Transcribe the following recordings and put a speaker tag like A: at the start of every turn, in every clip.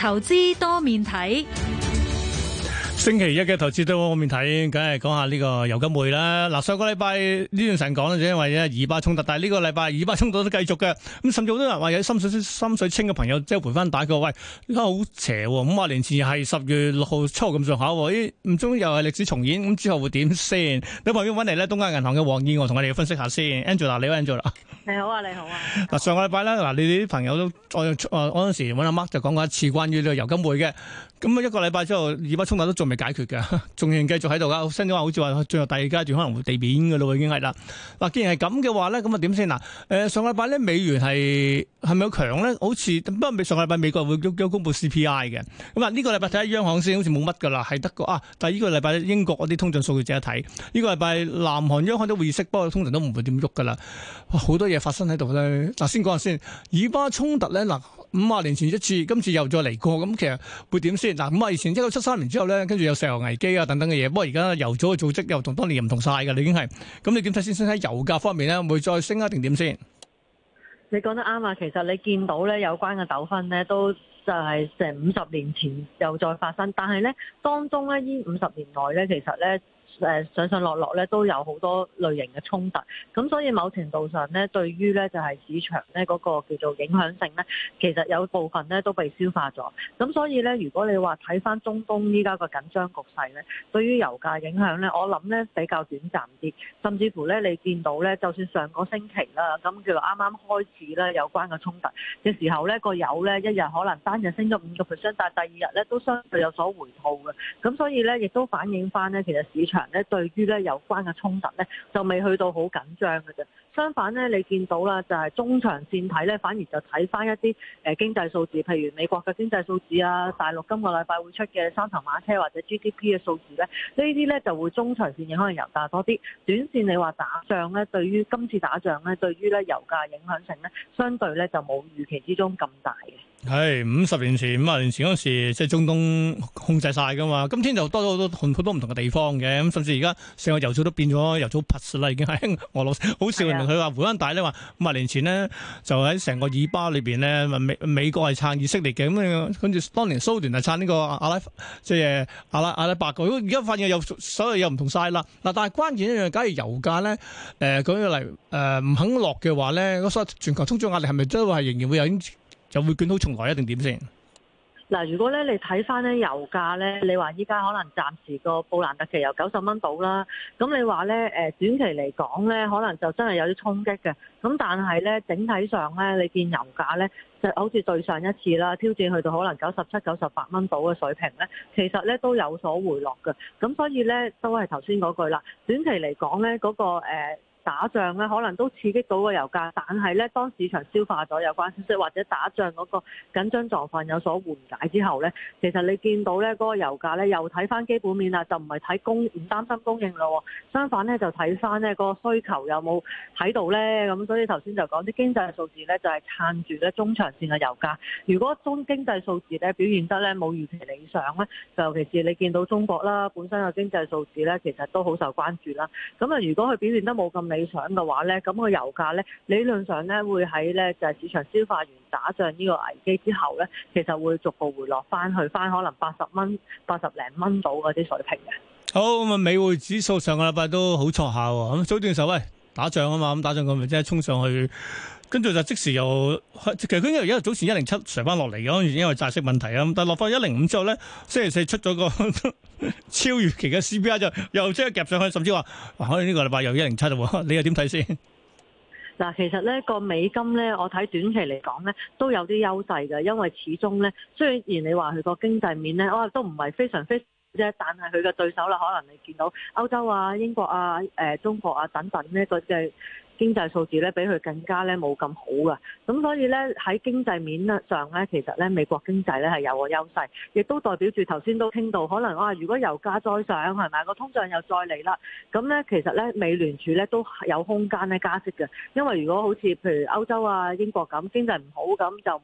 A: 投資多面睇。
B: 星期一嘅投資多面睇，梗係講下呢個油金匯啦。嗱，上個禮拜呢段時間講咧，就因為咧以巴衝突，但係呢個禮拜以巴衝突都繼續嘅。咁甚至好多人話有心水清嘅朋友即係回翻打佢，喂，呢個好邪喎！50年前係10月6號初咁上下喎，咦？唔中又係歷史重演，咁之後會點先？喺旁邊揾嚟咧，東亞銀行嘅黃燕娥同我哋分析下先。Angela， 你好 Angela。
C: 你好啊，你好啊。
B: 嗱，上個禮拜咧，嗱，你哋啲朋友都嗰陣時揾阿 Mark 就講過一次關於呢個油金匯嘅。咁一個禮拜之後，以巴衝突都仲未解決嘅，仲仍然繼續喺度噶。新話好似話最後第二階段可能會地面嘅咯，已經係啦。嗱，既然係咁嘅話咧，咁啊點先嗱？上個禮拜咧美元係咪好強咧？好似不過上個禮拜美國會公布 CPI 嘅。咁啊呢個禮拜睇下央行先，好似冇乜噶啦，係得個啊。但係呢個禮拜英國嗰啲通脹數據值得睇。呢個禮拜南韓央行都會議息，不過通常都唔會點喐噶啦。好多嘢發生喺度咧。嗱，先講下先，以巴衝突咧嗱。50年前一次，今次又再嚟過，咁其實會點先？嗱，50年前1973年之後咧，跟住有石油危機啊等等嘅嘢。不過而家油組嘅組織又同當年又唔同晒㗎，你已經係。咁你點睇先？先喺油價方面咧，會再升啊定點先？
C: 你講得啱啊！其實你見到咧有關嘅糾紛咧，都就係成50年前又再發生，但係咧當中咧呢50年內咧，其實咧。上上落落咧都有好多類型嘅衝突，咁所以某程度上咧，對於咧就係市場咧嗰個叫做影響性咧，其實有部分咧都被消化咗。咁所以咧，如果你話睇翻中東依家個緊張局勢咧，對於油價影響咧，我諗咧比較短暫啲，甚至乎咧你見到咧，就算上個星期啦，咁叫做啱啱開始咧有關嘅衝突嘅時候咧，個油咧一日可能單日升咗5%，但係第二日咧都相對有所回吐嘅。咁所以咧亦都反映翻咧，其實市場咧對於咧有關嘅衝突咧就未去到好緊張嘅啫。相反咧，你見到啦，就係中長線睇咧，反而就睇翻一啲經濟數字，譬如美國嘅經濟數字啊，大陸今個禮拜會出嘅三頭馬車或者 GDP 嘅數字咧，呢啲咧就會中長線影響油價多啲。短線你話打仗咧，對於今次打仗咧，對於咧油價影響性咧，相對咧就冇預期之中咁大嘅。
B: 係50年前、50年前嗰時，即係中東控制晒噶嘛。今天就多咗好多唔同嘅地方嘅，咁甚至而家成個油組都變咗油組 plus 啦，已經係俄羅斯。好笑人哋佢話胡安大咧話50年前呢，就喺成個以巴裏邊咧，美國係撐以色列嘅，咁跟住當年蘇聯係撐呢個阿拉伯嘅。而家發現所有又唔同晒啦。嗱，但係關鍵一樣，假如油價咧舉個例唔肯落嘅話咧，所以全球通脹壓力係咪都係仍然會有？就會捲土重來一定點先？
C: 嗱，如果咧你睇翻咧油價咧，你話依家可能暫時個布蘭特期油90蚊到啦，咁你話咧短期嚟講咧，可能就真係有啲衝擊嘅。咁但係咧整體上咧，你見油價咧就好似對上一次啦，挑戰去到可能97、98蚊到嘅水平咧，其實咧都有所回落嘅。咁所以咧都係頭先嗰句啦，短期嚟講咧嗰個打仗咧可能都刺激到個油價，但係咧當市場消化咗有關消息或者打仗嗰個緊張狀況有所緩解之後咧，其實你見到咧嗰個油價咧又睇翻基本面啦，就唔係睇唔擔心供應咯，相反咧就睇翻咧個需求有冇喺度咧。咁所以頭先就講啲經濟數字咧就係撐住咧中長線嘅油價。如果經濟數字咧表現得咧冇預期理想咧，就尤其是你見到中國啦本身嘅經濟數字咧其實都好受關注啦。咁啊如果佢表現得冇咁理想嘅話咧，咁個油價咧理論上咧會喺咧就係市場消化完打仗呢個危機之後咧，其實會逐步回落翻去翻可能80蚊、80零蚊到嗰啲水平嘅。
B: 好，咁啊，美匯指數上個禮拜都好錯下喎。咁早段時候喂打仗啊嘛，咁打仗佢咪即係衝上去，跟住就即時又其實佢因為而家早前107上翻落嚟嘅，因為債息問題啊。但係落翻105之後咧，星期四出咗個超預期嘅 CPI 就又即刻夾上去，甚至話可能呢個禮拜又107喎。你又點睇先？
C: 嗱，其實咧個美金咧，我睇短期嚟講咧都有啲優勢嘅，因為始終咧雖然你話佢個經濟面咧，都唔係非常啫，但係佢嘅對手啦，可能你見到歐洲啊、英國啊、中國啊等等呢個嘅經濟數字咧，比佢更加咧冇咁好㗎。咁所以咧喺經濟面上咧，其實咧美國經濟咧係有個優勢，亦都代表住頭先都傾到，可能如果油價再上係咪個通脹又再嚟啦？咁咧其實咧美聯儲咧都有空間咧加息嘅，因為如果好似譬如歐洲啊、英國咁經濟唔好咁就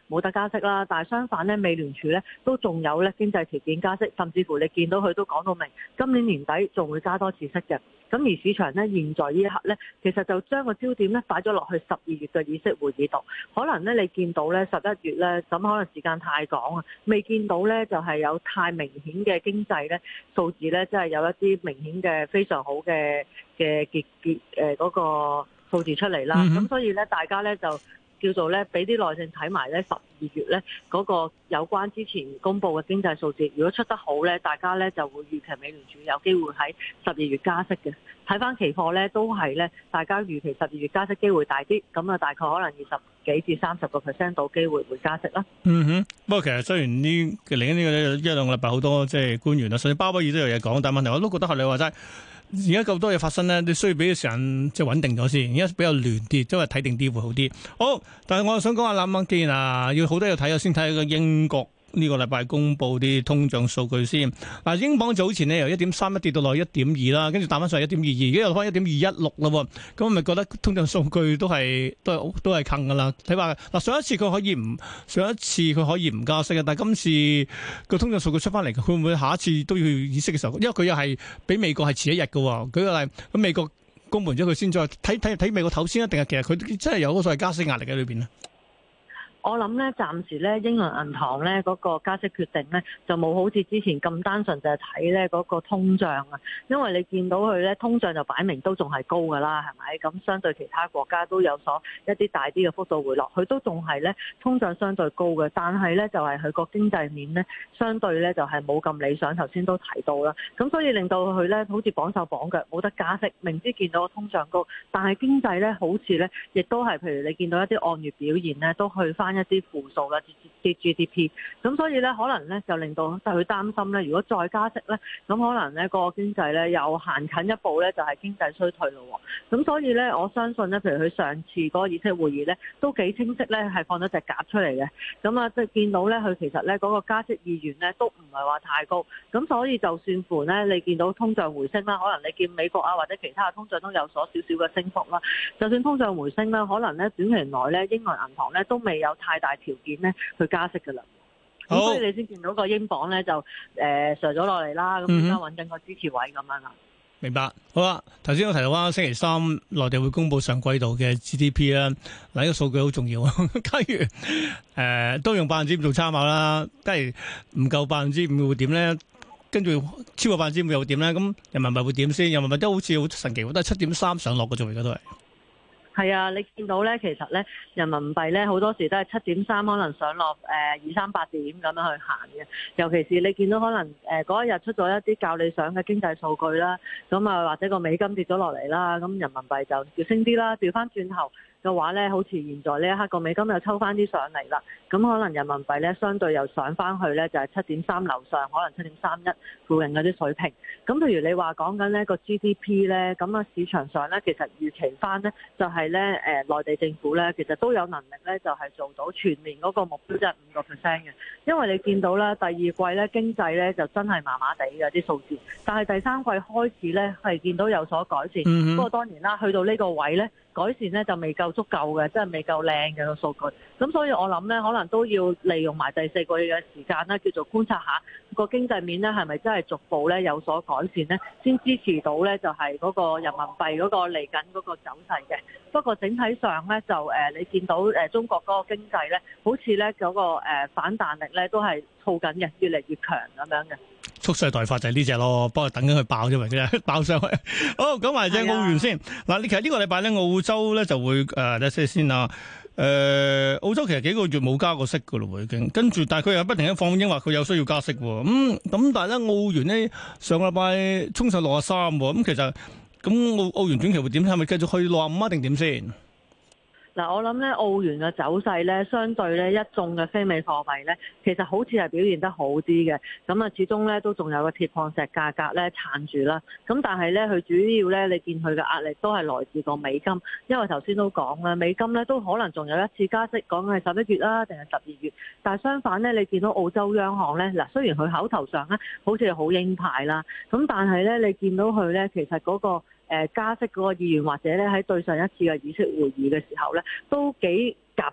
C: 冇得加息啦。但係相反咧，美聯儲咧都仲有咧經濟條件加息，甚至乎你見到佢都講到明，今年年底仲會加多次息嘅。咁而市場咧現在呢一刻咧，其實就將個焦點咧擺咗落去12月嘅議息會議度。可能咧你見到咧11月咧，咁可能時間太趕啊，未見到咧就係有太明顯嘅經濟咧數字咧，即係有一啲明顯嘅非常好嘅嗰個數字出嚟啦。咁所以咧大家咧就叫做咧俾啲耐性睇埋咧12月咧嗰個有關之前公布嘅經濟數字，如果出得好咧，大家咧就會預期美聯儲有機會喺12月加息嘅。睇翻期貨咧都係咧，大家預期12月加息機會大啲，咁啊大概可能20幾至30% 到機會會加息啦。
B: 不過其實雖然嚟緊呢個一兩個禮拜好多即係官員啊，甚至鮑威爾都有嘢講，但係問題我都覺得係你話齋。而家咁多嘢發生咧，你需要俾個時間即係穩定咗先。而家比較亂啲，即係睇定啲會好啲。好，但係我又想講下諗諗，既然要好多嘢睇啊，先睇下個英國呢個禮拜公布啲通脹數據先。嗱，英鎊早前呢由1.31跌到落去1.2啦，跟住彈翻上去1.22，而家又翻1.216啦。咁我咪覺得通脹數據都係近噶啦。睇下嗱，上一次佢可以唔加息嘅，但係今次個通脹數據出翻嚟，會唔會下一次都要議息嘅時候？因為佢又係比美國係遲一日嘅。舉個例，咁美國公布完咗佢先再睇美國頭先，定係其實佢真係有嗰個所謂加息壓力喺裏邊呢？
C: 我諗咧，暫時咧，英倫銀行咧嗰個加息決定咧，就冇好似之前咁單純就係睇咧嗰個通脹啊。因為你見到佢咧，通脹就擺明都仲係高㗎啦，係咪？咁相對其他國家都有所一啲大啲嘅幅度回落，佢都仲係咧通脹相對高嘅，但係咧就係佢個經濟面咧相對咧就係冇咁理想。頭先都提到啦，咁所以令到佢咧好似綁手綁腳，冇得加息。明知見到個通脹高，但係經濟咧好似咧亦都係，譬如你見到一啲按月表現咧都去翻一啲負數啦，跌 GDP， 咁所以咧可能咧就令到佢擔心咧，如果再加息咧，咁可能咧個經濟咧又行近一步咧，就係經濟衰退咯。咁所以咧，我相信咧，譬如佢上次嗰個議息會議咧，都幾清晰咧，係放咗隻鴿出嚟嘅。咁啊，即係見到咧，佢其實咧嗰個加息意願咧都唔係話太高。咁所以就算乎咧，你見到通脹回升啦，可能你見美國啊或者其他嘅通脹都有所少少嘅升幅啦。就算通脹回升啦，可能咧短期內咧英倫銀行咧都未有太大條件咧去加息㗎啦。咁所以你先見到個英鎊咧就上咗落嚟啦，咁而家揾緊個支持位咁樣啦。
B: 明白，好啦，頭先我提到話星期三內地會公布上季度嘅 GDP 啦，嗱呢個數據好重要啊。假如都用5%做參考啦，假如唔夠5%會點咧？跟住超過5%又會點咧？咁人民幣會點先？人民幣都好似好神奇，都係7.3上落嘅啫，而家都係。
C: 係啊，你見到咧，其實咧人民幣咧好多時都係7.3，可能上落238點咁樣去行嘅。尤其是你見到可能嗰一日出咗一啲較理想嘅經濟數據啦，咁啊或者個美金跌咗落嚟啦，咁人民幣就要升啲啦。調翻轉頭嘅話咧，好似現在呢一刻個美金又抽翻啲上嚟啦，咁可能人民幣咧相對又上翻去咧就係7.3樓上，可能7.31附近嗰啲水平。咁譬如你話講緊呢個 GDP 咧，咁啊市場上咧其實預期翻咧就係咧內地政府咧其實都有能力咧就係做到全年嗰個目標，即係5%嘅。因為你見到咧第二季咧經濟咧就真係麻麻地嘅啲數字，但係第三季開始咧係見到有所改善。不過當然啦，去到呢個位咧改善咧就未夠足夠嘅，即係未夠靚嘅個數據。咁所以我諗咧，可能都要利用埋第四個月嘅時間咧，叫做觀察下個經濟面咧係咪真係逐步咧有所改善咧，先支持到咧就係嗰個人民幣嗰個嚟緊嗰個走勢嘅。不過整體上咧就你見到中國嗰個經濟咧，好似咧嗰個反彈力咧都係燥緊嘅，越嚟越強咁樣嘅。
B: 蓄勢待發就係呢只咯，幫佢等緊佢爆啫嘛，佢爆上去。好，講埋隻澳元先。嗱，其實呢個禮拜咧，澳洲咧就會睇下先啦。澳洲其實幾個月冇加過息噶咯，已經跟住，但係佢又不停咁放鷹話佢有需要加息。咁但係咧，澳元咧上個禮拜衝上63，咁其實咁澳元短期會點？係咪繼續去65啊？定點先？
C: 嗱，我諗咧澳元嘅走勢咧，相對咧一眾嘅非美貨幣咧，其實好似係表現得好啲嘅。咁啊，始終咧都仲有個鐵礦石價格咧撐住啦。咁但係咧，佢主要咧，你見佢嘅壓力都係來自個美金，因為頭先都講啦，美金咧都可能仲有一次加息，講係11月啦，定係12月。但係相反咧，你見到澳洲央行咧，嗱雖然佢口頭上咧好似係好鷹派啦，咁但係咧你見到佢咧，其實嗰個加息嗰個意願，或者咧喺對上一次嘅議息會議嘅時候咧，都幾鴿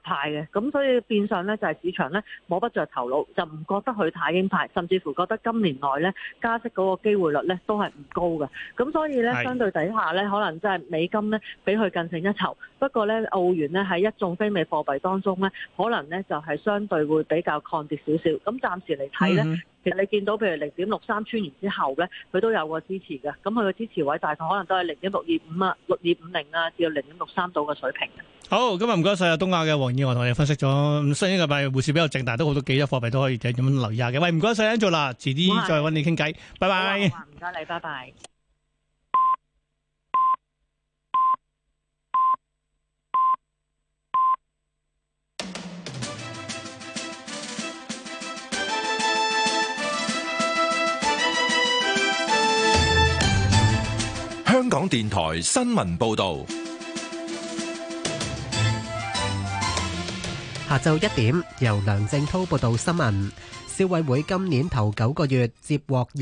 C: 派嘅，咁所以變相咧就係市場咧摸不着頭腦，就唔覺得佢太鷹派，甚至乎覺得今年內咧加息嗰個機會率咧都係唔高嘅。咁所以咧相對底下咧，可能真係美金咧比佢更勝一籌。不過咧澳元咧喺一眾非美貨幣當中咧，可能咧就係相對會比較抗跌少少。咁暫時嚟睇咧。其實你見到譬如0.63穿完之後咧，佢都有個支持嘅，咁佢個支持位大概可能都係0.625啊、6.50啊，至到0.63度嘅水平嘅。
B: 好，今日唔該晒啊，東亞嘅黃燕華同我哋分析咗，雖然呢個禮拜匯市比較靜，但係都好多幾隻貨幣都可以咁樣留意下嘅。喂，唔該晒 Angela，遲啲再揾你傾偈，拜拜。
C: 唔該你，拜拜。
A: 香港電台新聞報道，
D: 下晝1點由梁正滔報道新聞。消委會今年頭9個月接獲